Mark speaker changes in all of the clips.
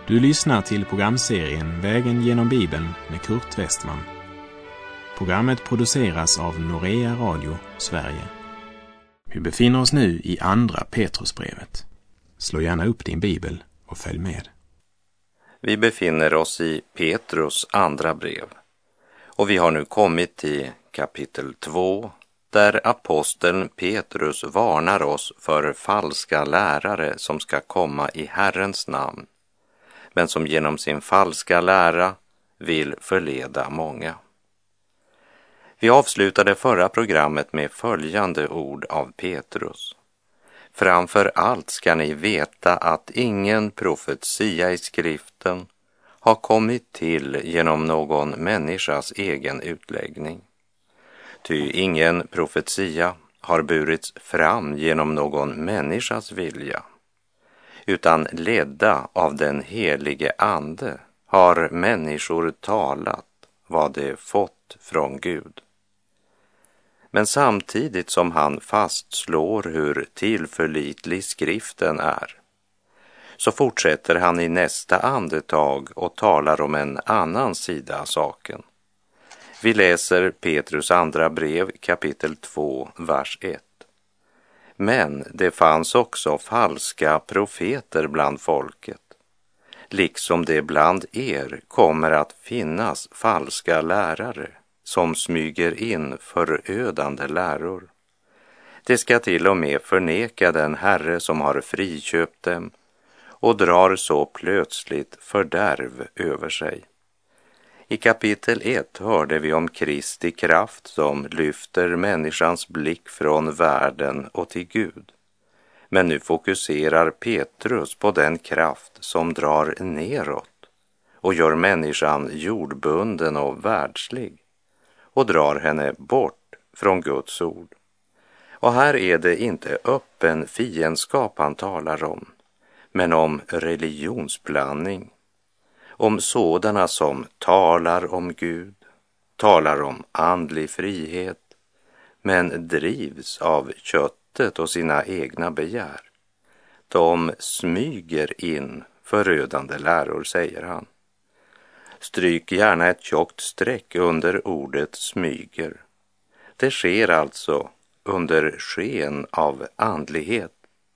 Speaker 1: Du lyssnar till programserien Vägen genom Bibeln med Kurt Westman. Programmet produceras av Norea Radio, Sverige. Vi befinner oss nu i andra Petrusbrevet. Slå gärna upp din bibel och följ med.
Speaker 2: Vi befinner oss i Petrus andra brev och vi har nu kommit till kapitel 2 där aposteln Petrus varnar oss för falska lärare som ska komma i Herrens namn, men som genom sin falska lära vill förleda många. Vi avslutade förra programmet med följande ord av Petrus. Framför allt ska ni veta att ingen profetia i skriften har kommit till genom någon människas egen utläggning. Ty ingen profetia har burits fram genom någon människas vilja, utan ledda av den helige ande har människor talat vad de fått från Gud. Men samtidigt som han fastslår hur tillförlitlig skriften är, så fortsätter han i nästa andetag och talar om en annan sida av saken. Vi läser Petrus andra brev kapitel 2, vers 1. Men det fanns också falska profeter bland folket, liksom det bland er kommer att finnas falska lärare som smyger in förödande läror. Det ska till och med förneka den Herre som har friköpt dem och drar så plötsligt fördärv över sig. I kapitel 1 hörde vi om Kristi kraft som lyfter människans blick från världen och till Gud. Men nu fokuserar Petrus på den kraft som drar neråt och gör människan jordbunden och världslig och drar henne bort från Guds ord. Och här är det inte öppen fiendskap han talar om, men om religionsblandning. Om sådana som talar om Gud, talar om andlig frihet, men drivs av köttet och sina egna begär. De smyger in förödande läror, säger han. Stryk gärna ett tjockt streck under ordet smyger. Det sker alltså under sken av andlighet.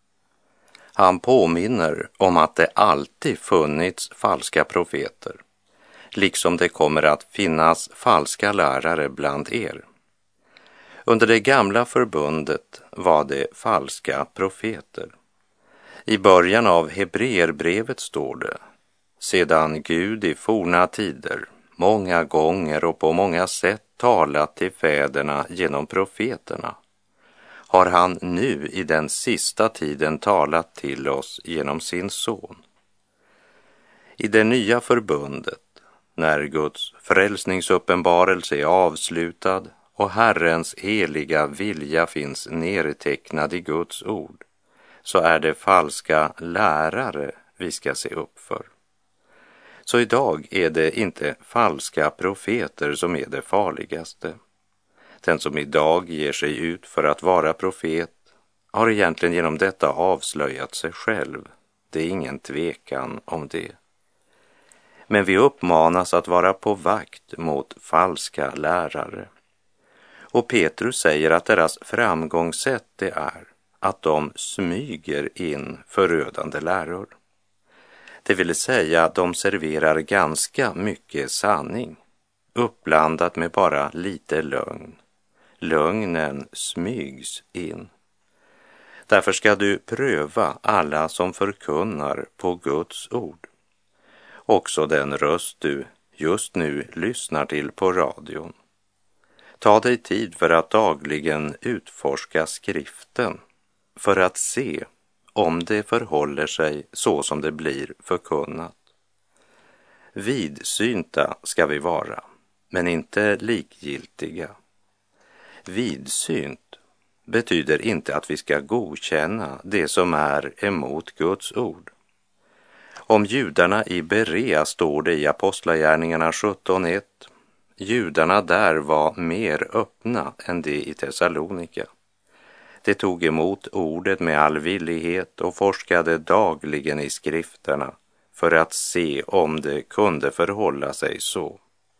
Speaker 2: Han påminner om att det alltid funnits falska profeter, liksom det kommer att finnas falska lärare bland er. Under det gamla förbundet var det falska profeter. I början av Hebreerbrevet står det: sedan Gud i forna tider många gånger och på många sätt talat till fäderna genom profeterna, har han nu i den sista tiden talat till oss genom sin son. I det nya förbundet, när Guds frälsningsuppenbarelse är avslutad och Herrens heliga vilja finns nedtecknad i Guds ord, så är det falska lärare vi ska se upp för. Så idag är det inte falska profeter som är det farligaste. Den som idag ger sig ut för att vara profet har egentligen genom detta avslöjat sig själv. Det är ingen tvekan om det. Men vi uppmanas att vara på vakt mot falska lärare. Och Petrus säger att deras framgångssätt det är att de smyger in förödande läror. Det vill säga att de serverar ganska mycket sanning, uppblandat med bara lite lögn. Lögnen smygs in. Därför ska du pröva alla som förkunnar på Guds ord. Också den röst du just nu lyssnar till på radion. Ta dig tid för att dagligen utforska skriften för att se om det förhåller sig så som det blir förkunnat. Vidsynta ska vi vara, men inte likgiltiga. Vidsynt betyder inte att vi ska godkänna det som är emot Guds ord. Om judarna i Berea står det i Apostlagärningarna 17:1. Judarna där var mer öppna än de i Thessalonika. De tog emot ordet med all villighet och forskade dagligen i skrifterna för att se om det kunde förhålla sig så.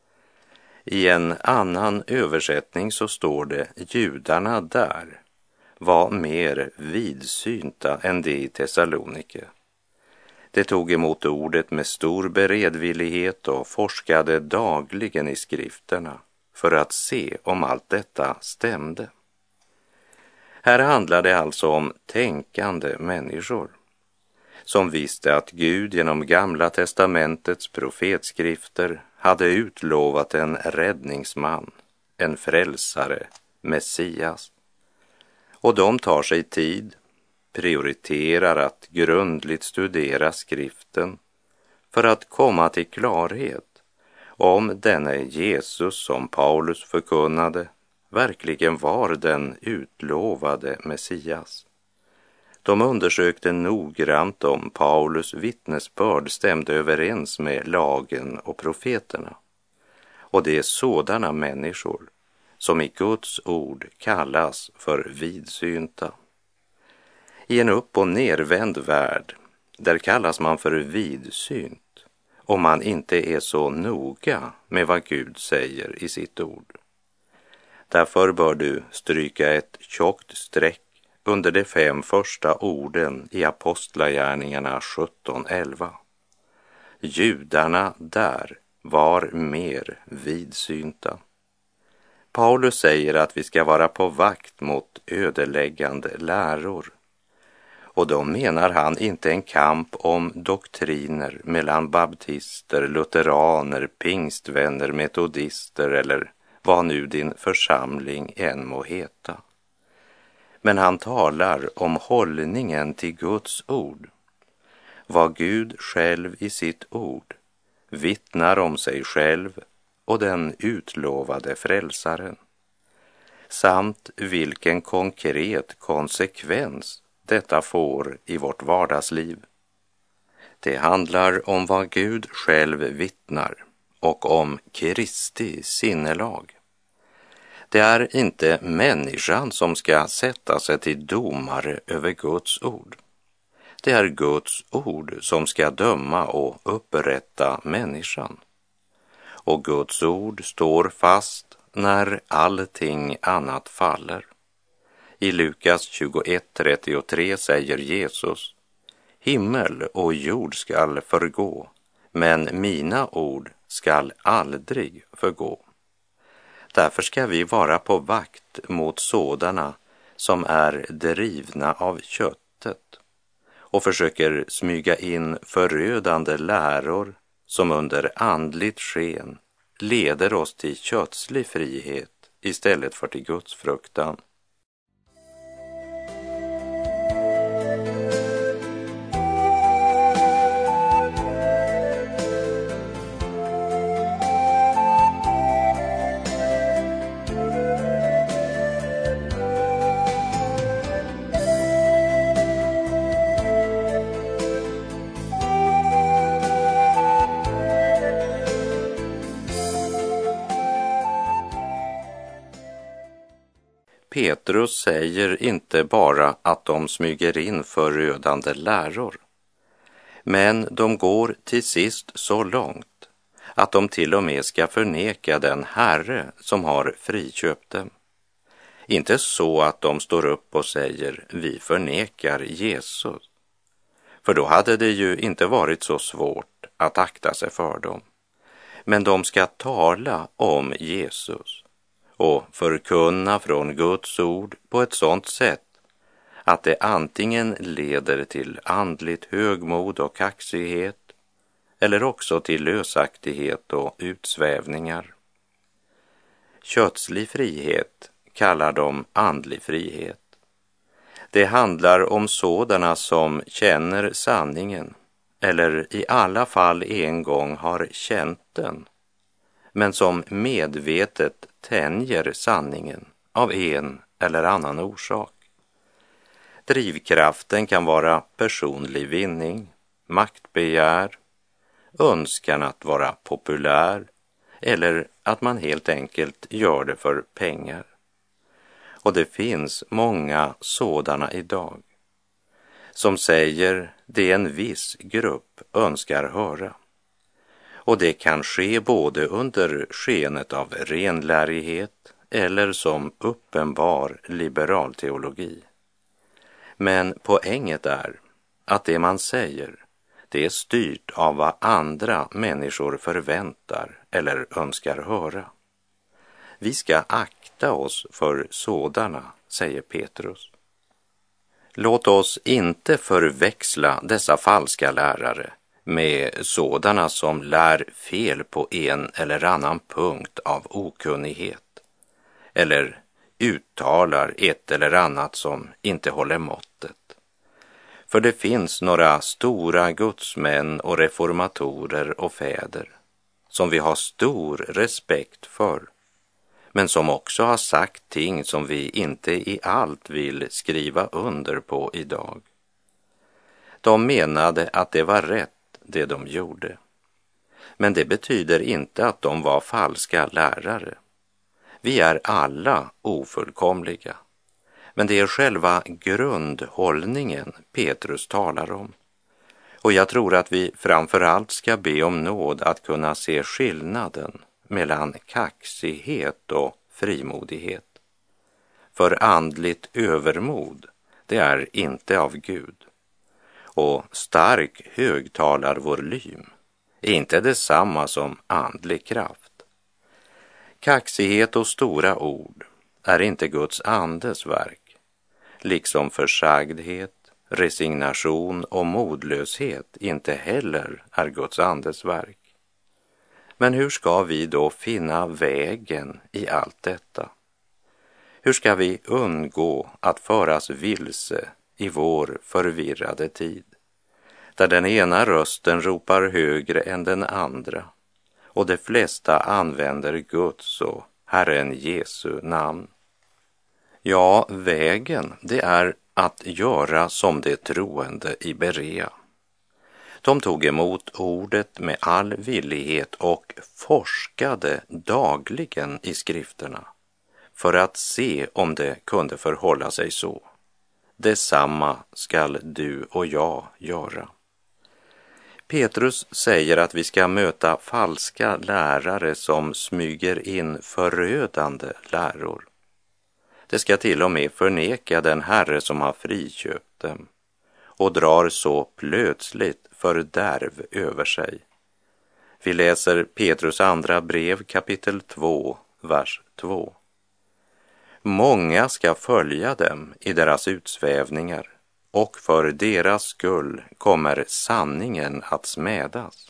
Speaker 2: I en annan översättning så står det: judarna där var mer vidsynta än de i Thessalonike. De tog emot ordet med stor beredvillighet och forskade dagligen i skrifterna för att se om allt detta stämde. Här handlar det alltså om tänkande människor som visste att Gud genom Gamla testamentets profetskrifter hade utlovat en räddningsman, en frälsare, Messias. Och de tar sig tid, prioriterar att grundligt studera skriften för att komma till klarhet om denne Jesus som Paulus förkunnade verkligen var den utlovade Messias. De undersökte noggrant om Paulus vittnesbörd stämde överens med lagen och profeterna. Och det är sådana människor som i Guds ord kallas för vidsynta. I en upp- och nervänd värld, där kallas man för vidsynt om man inte är så noga med vad Gud säger i sitt ord. Därför bör du stryka ett tjockt streck under de 5 första orden i Apostlagärningarna 17:11. Judarna där var mer vidsynta. Paulus säger att vi ska vara på vakt mot ödeläggande läror. Och då menar han inte en kamp om doktriner mellan baptister, lutheraner, pingstvänner, metodister eller vad nu din församling än må heta. Men han talar om hållningen till Guds ord. Vad Gud själv i sitt ord vittnar om sig själv och den utlovade frälsaren. Samt vilken konkret konsekvens detta får i vårt vardagsliv. Det handlar om vad Gud själv vittnar och om Kristi sinnelag. Det är inte människan som ska sätta sig till domare över Guds ord. Det är Guds ord som ska döma och upprätta människan. Och Guds ord står fast när allting annat faller. I Lukas 21:33 säger Jesus: himmel och jord skall förgå, men mina ord skall aldrig förgå. Därför ska vi vara på vakt mot sådana som är drivna av köttet och försöker smyga in förödande läror som under andligt sken leder oss till kötslig frihet istället för till Guds fruktan. Petrus säger inte bara att de smyger in förödande läror, men de går till sist så långt att de till och med ska förneka den Herre som har friköpt dem. Inte så att de står upp och säger: vi förnekar Jesus. För då hade det ju inte varit så svårt att akta sig för dem. Men de ska tala om Jesus och förkunna från Guds ord på ett sådant sätt att det antingen leder till andligt högmod och kaxighet eller också till lösaktighet och utsvävningar. Kötslig frihet kallar de andlig frihet. Det handlar om sådana som känner sanningen eller i alla fall en gång har känt den, men som medvetet tänjer sanningen av en eller annan orsak. Drivkraften kan vara personlig vinning, maktbegär, önskan att vara populär eller att man helt enkelt gör det för pengar. Och det finns många sådana idag som säger det en viss grupp önskar höra. Och det kan ske både under skenet av renlärighet eller som uppenbar liberal teologi. Men poänget är att det man säger, det är styrt av vad andra människor förväntar eller önskar höra. Vi ska akta oss för sådana, säger Petrus. Låt oss inte förväxla dessa falska lärare med sådana som lär fel på en eller annan punkt av okunnighet eller uttalar ett eller annat som inte håller måttet. För det finns några stora gudsmän och reformatorer och fäder som vi har stor respekt för, men som också har sagt ting som vi inte i allt vill skriva under på idag. De menade att det var rätt det de gjorde, men det betyder inte att de var falska lärare. Vi är alla ofullkomliga, men det är själva grundhållningen Petrus talar om. Och jag tror att vi framför allt ska be om nåd att kunna se skillnaden mellan kaxighet och frimodighet. För andligt övermod, det är inte av Gud. Och stark högtalarvolym är inte detsamma som andlig kraft. Kaxighet och stora ord är inte Guds andes verk, liksom försagdhet, resignation och modlöshet inte heller är Guds andes verk. Men hur ska vi då finna vägen i allt detta? Hur ska vi undgå att föras vilse i vår förvirrade tid, där den ena rösten ropar högre än den andra och de flesta använder Guds och Herren Jesu namn? Ja, vägen, det är att göra som de troende i Berea. De tog emot ordet med all villighet och forskade dagligen i skrifterna för att se om det kunde förhålla sig så. Detsamma skall du och jag göra. Petrus säger att vi ska möta falska lärare som smyger in förödande läror. Det ska till och med förneka den Herre som har friköpt dem och drar så plötsligt fördärv över sig. Vi läser Petrus andra brev kapitel 2, vers 2. Många ska följa dem i deras utsvävningar, och för deras skull kommer sanningen att smädas.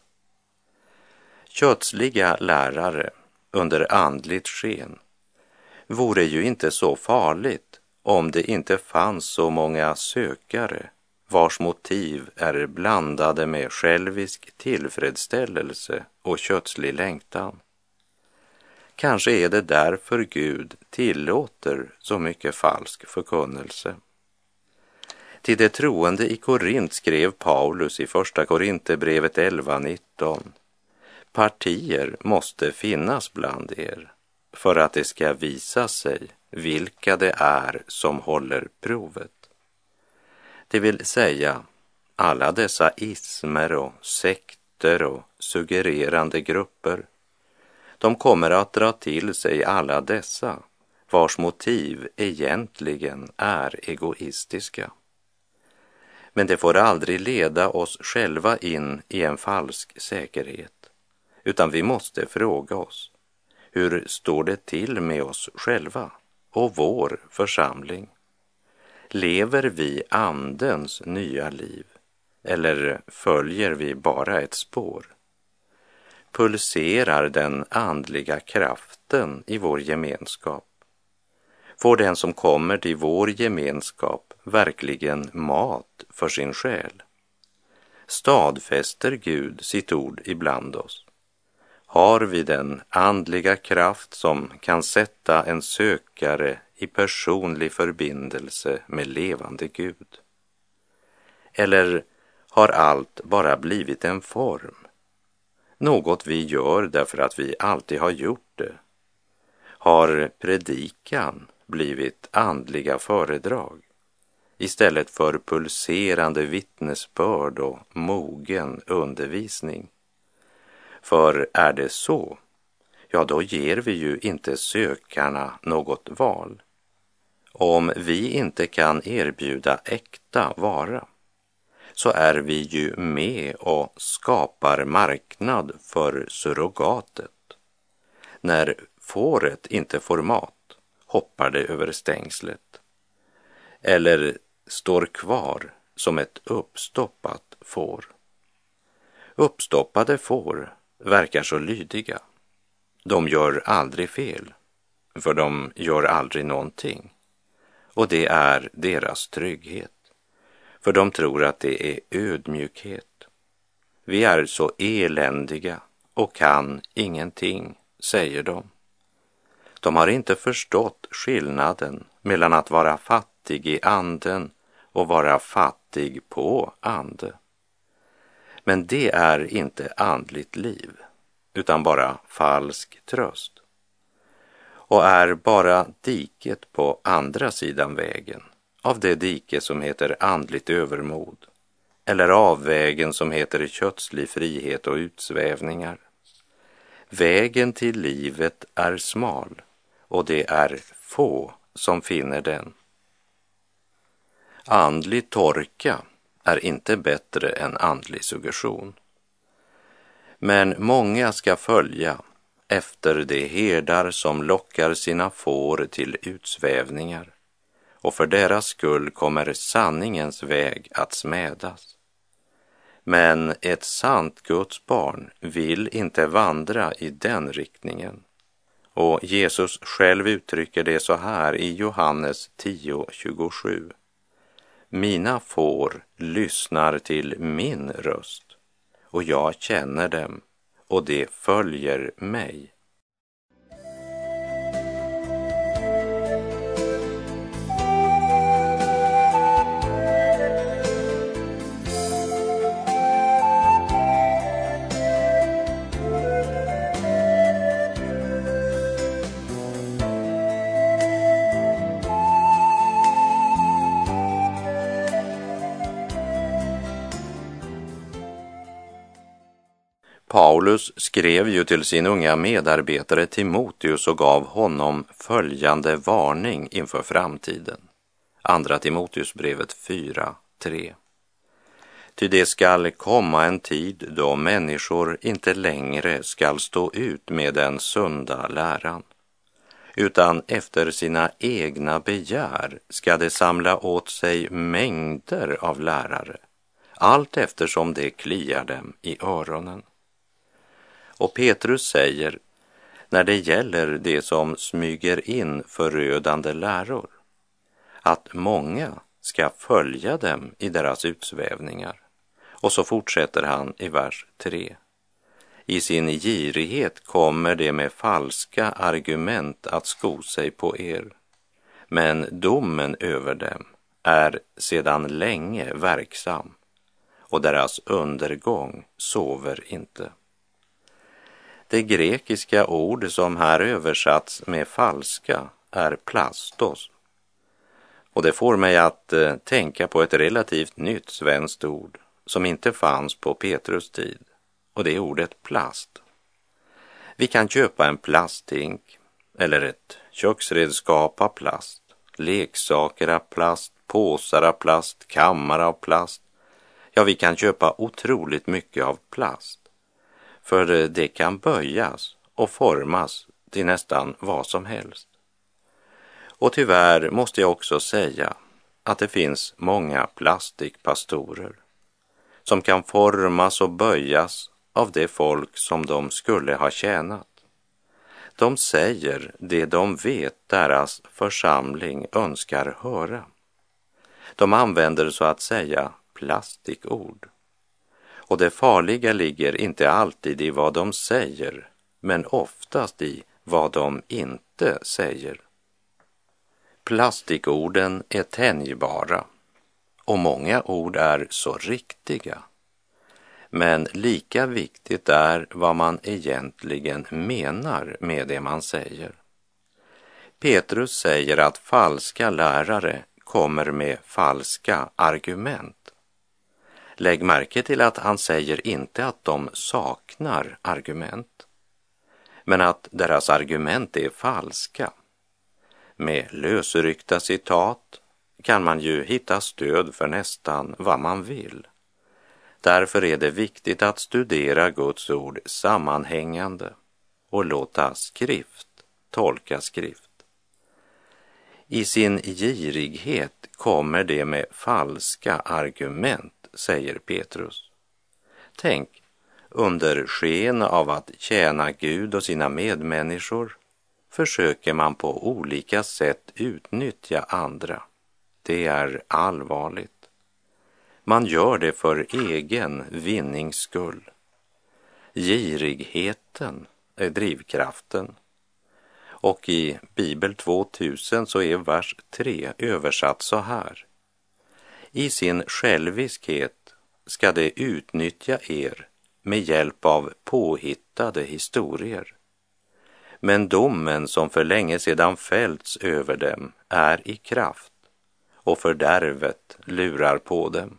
Speaker 2: Kötsliga lärare under andligt sken vore ju inte så farligt om det inte fanns så många sökare vars motiv är blandade med självisk tillfredsställelse och kötslig längtan. Kanske är det därför Gud tillåter så mycket falsk förkunnelse. Till de troende i Korint skrev Paulus i första Korinthierbrevet 11:19: partier måste finnas bland er för att det ska visa sig vilka det är som håller provet. Det vill säga alla dessa ismer och sekter och suggererande grupper. De kommer att dra till sig alla dessa vars motiv egentligen är egoistiska. Men det får aldrig leda oss själva in i en falsk säkerhet, utan vi måste fråga oss: hur står det till med oss själva och vår församling? Lever vi andens nya liv eller följer vi bara ett spår? Pulserar den andliga kraften i vår gemenskap? Får den som kommer till vår gemenskap verkligen mat för sin själ? Stadfäster Gud sitt ord ibland oss? Har vi den andliga kraft som kan sätta en sökare i personlig förbindelse med levande Gud? Eller har allt bara blivit en form? Något vi gör därför att vi alltid har gjort det? Har predikan blivit andliga föredrag? istället för pulserande vittnesbörd och mogen undervisning. För är det så, ja då ger vi ju inte sökarna något val. Om vi inte kan erbjuda äkta vara, så är vi ju med och skapar marknad för surrogatet. När fåret inte får mat hoppar det över stängslet, eller står kvar som ett uppstoppat får. Uppstoppade får verkar så lydiga. De gör aldrig fel, för de gör aldrig någonting. Och det är deras trygghet, för de tror att det är ödmjukhet. Vi är så eländiga och kan ingenting, säger de. De har inte förstått skillnaden mellan att vara fattig i anden och vara fattig på ande. Men det är inte andligt liv, utan bara falsk tröst. Och är bara diket på andra sidan vägen, av det dike som heter andligt övermod, eller av vägen som heter kötslig frihet och utsvävningar. Vägen till livet är smal, och det är få som finner den. Andlig torka är inte bättre än andlig suggestion. Men många ska följa efter de herdar som lockar sina får till utsvävningar, och för deras skull kommer sanningens väg att smädas. Men ett sant Guds barn vill inte vandra i den riktningen. Och Jesus själv uttrycker det så här i Johannes 10:27. Mina får lyssnar till min röst, och jag känner dem, och de följer mig. Paulus skrev ju till sin unga medarbetare Timoteus och gav honom följande varning inför framtiden. Andra Timoteusbrevet 4:3. Ty det skall komma en tid då människor inte längre skall stå ut med den sunda läran, utan efter sina egna begär ska de samla åt sig mängder av lärare, allt eftersom det kliar dem i öronen. Och Petrus säger, när det gäller det som smyger in förödande läror, att många ska följa dem i deras utsvävningar. Och så fortsätter han i vers 3. I sin girighet kommer det med falska argument att sko sig på er, men domen över dem är sedan länge verksam, och deras undergång sover inte. Det grekiska ord som här översatts med falska är plastos. Och det får mig att tänka på ett relativt nytt svenskt ord som inte fanns på Petrus tid. Och det är ordet plast. Vi kan köpa en plasthink eller ett köksredskap av plast, leksaker av plast, påsar av plast, kammar av plast. Ja, vi kan köpa otroligt mycket av plast. För det kan böjas och formas till nästan vad som helst. Och tyvärr måste jag också säga att det finns många plastikpastorer som kan formas och böjas av det folk som de skulle ha tjänat. De säger det de vet deras församling önskar höra. De använder så att säga plastikord. Och det farliga ligger inte alltid i vad de säger, men oftast i vad de inte säger. Plastikorden är tänjbara, och många ord är så riktiga. Men lika viktigt är vad man egentligen menar med det man säger. Petrus säger att falska lärare kommer med falska argument. Lägg märke till att han säger inte att de saknar argument, men att deras argument är falska. Med lösryckta citat kan man ju hitta stöd för nästan vad man vill. Därför är det viktigt att studera Guds ord sammanhängande och låta skrift tolka skrift. I sin girighet kommer det med falska argument, säger Petrus. Tänk, under sken av att tjäna Gud och sina medmänniskor försöker man på olika sätt utnyttja andra. Det är allvarligt. Man gör det för egen vinnings skull. Girigheten är drivkraften. Och i Bibel 2000 så är vers 3 översatt så här. I sin själviskhet ska det utnyttja er med hjälp av påhittade historier. Men domen som för länge sedan fällts över dem är i kraft och fördärvet lurar på dem.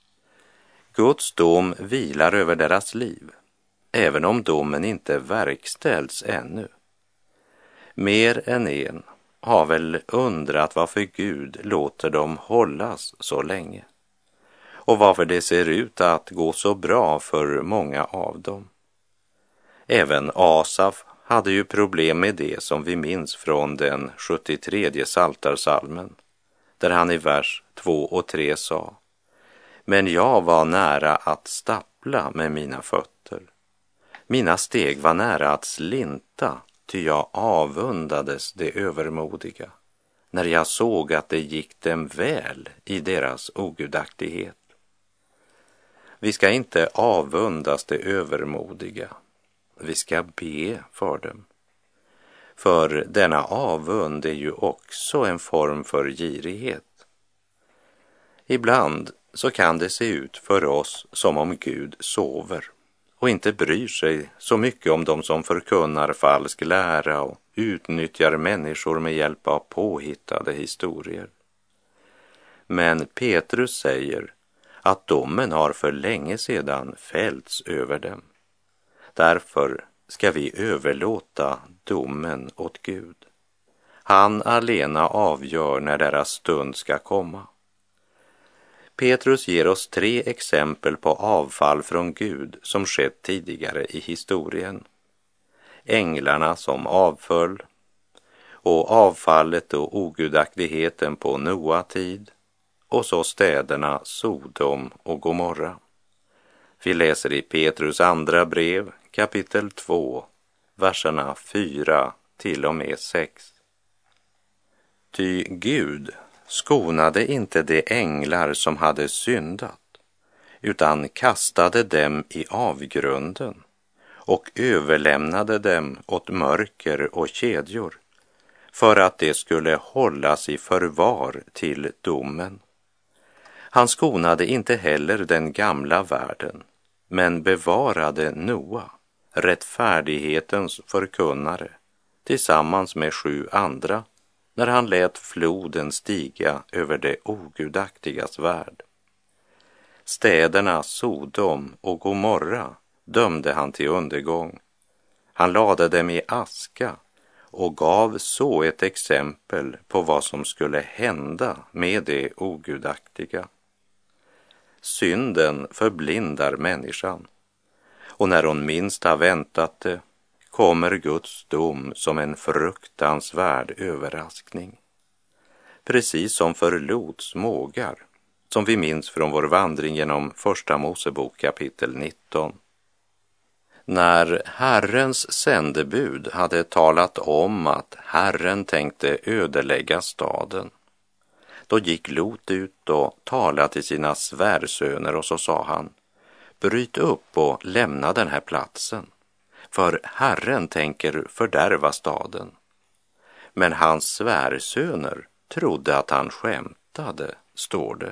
Speaker 2: Guds dom vilar över deras liv, även om domen inte verkställs ännu. Mer än en har väl undrat varför Gud låter dem hållas så länge och varför det ser ut att gå så bra för många av dem. Även Asaf hade ju problem med det som vi minns från den 73:e psaltarpsalmen, där han i vers 2 och 3 sa: Men jag var nära att stappla med mina fötter. Mina steg var nära att slinta, ty jag avundades det övermodiga, när jag såg att det gick dem väl i deras ogudaktighet. Vi ska inte avundas det övermodiga, vi ska be för dem. För denna avund är ju också en form för girighet. Ibland så kan det se ut för oss som om Gud sover och inte bryr sig så mycket om de som förkunnar falsk lära och utnyttjar människor med hjälp av påhittade historier. Men Petrus säger att domen har för länge sedan fällts över dem. Därför ska vi överlåta domen åt Gud. Han alena avgör när deras stund ska komma. Petrus ger oss 3 exempel på avfall från Gud som skett tidigare i historien. Änglarna som avföll och avfallet och ogudaktigheten på Noa tid och så städerna Sodom och Gomorra. Vi läser i Petrus andra brev kapitel 2, verserna 4 till och med 6. Ty Gud skonade inte de änglar som hade syndat, utan kastade dem i avgrunden och överlämnade dem åt mörker och kedjor, för att de skulle hållas i förvar till domen. Han skonade inte heller den gamla världen, men bevarade Noa, rättfärdighetens förkunnare, tillsammans med 7 andra, när han lät floden stiga över det ogudaktigas värld. Städerna Sodom och Gomorra dömde han till undergång. Han lade dem i aska och gav så ett exempel på vad som skulle hända med det ogudaktiga. Synden förblindar människan, och när hon minst har väntat det kommer Guds dom som en fruktansvärd överraskning. Precis som för Lots mågar, som vi minns från vår vandring genom Första Mosebok kapitel 19. När Herrens sändebud hade talat om att Herren tänkte ödelägga staden, då gick Lot ut och talade till sina svärsöner och så sa han: bryt upp och lämna den här platsen, för Herren tänker fördärva staden. Men hans svärsöner trodde att han skämtade, står det.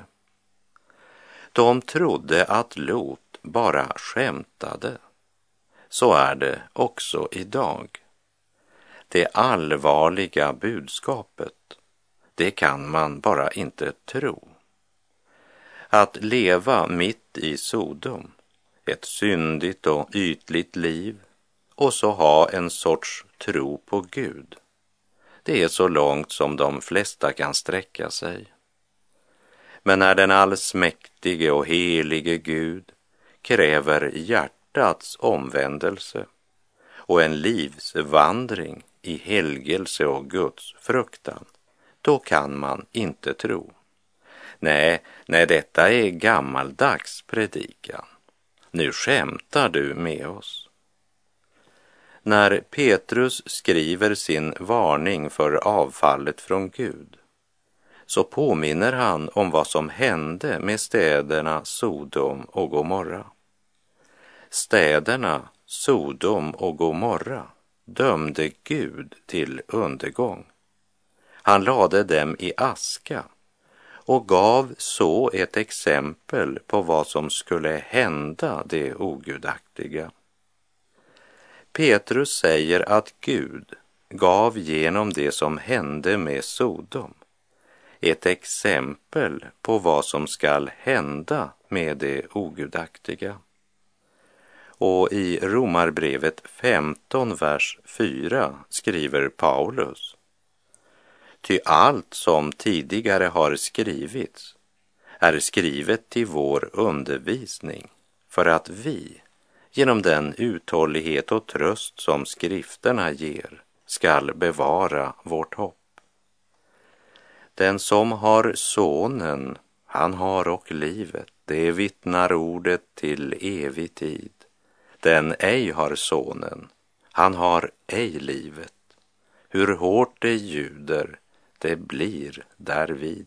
Speaker 2: De trodde att Lot bara skämtade. Så är det också idag. Det allvarliga budskapet, det kan man bara inte tro. Att leva mitt i Sodom, ett syndigt och ytligt liv, och så ha en sorts tro på Gud, det är så långt som de flesta kan sträcka sig. Men när den allsmäktige och helige Gud kräver hjärtats omvändelse och en livsvandring i helgelse och Guds fruktan, då kan man inte tro. Nej, detta är gammaldags predikan. Nu skämtar du med oss. När Petrus skriver sin varning för avfallet från Gud, så påminner han om vad som hände med städerna Sodom och Gomorra. Städerna Sodom och Gomorra dömde Gud till undergång. Han lade dem i aska och gav så ett exempel på vad som skulle hända det ogudaktiga. Petrus säger att Gud gav genom det som hände med Sodom ett exempel på vad som skall hända med det ogudaktiga. Och i Romarbrevet 15, vers 4 skriver Paulus: ty allt som tidigare har skrivits är skrivet till vår undervisning, för att vi, genom den uthållighet och tröst som skrifterna ger, skall bevara vårt hopp. Den som har sonen, han har och livet, det vittnar ordet till evig tid. Den ej har sonen, han har ej livet. Hur hårt det ljuder, det blir därvid.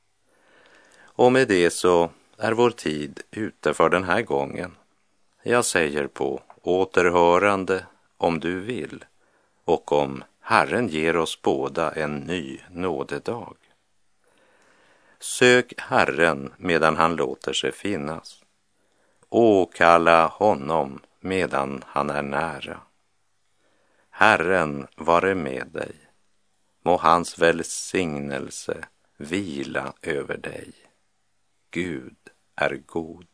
Speaker 2: Och med det så är vår tid ute för den här gången. Jag säger på återhörande om du vill, och om Herren ger oss båda en ny nådedag. Sök Herren medan han låter sig finnas. Åkalla honom medan han är nära. Herren vare med dig. Må hans välsignelse vila över dig. Gud är god.